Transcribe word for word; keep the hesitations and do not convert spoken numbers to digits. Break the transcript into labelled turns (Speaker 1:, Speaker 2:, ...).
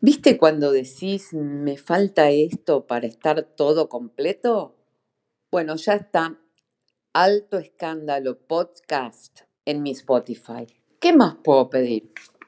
Speaker 1: ¿Viste cuando decís, me falta esto para estar todo completo? Bueno, ya está Alto Escándalo Podcast en mi Spotify. ¿Qué más puedo pedir?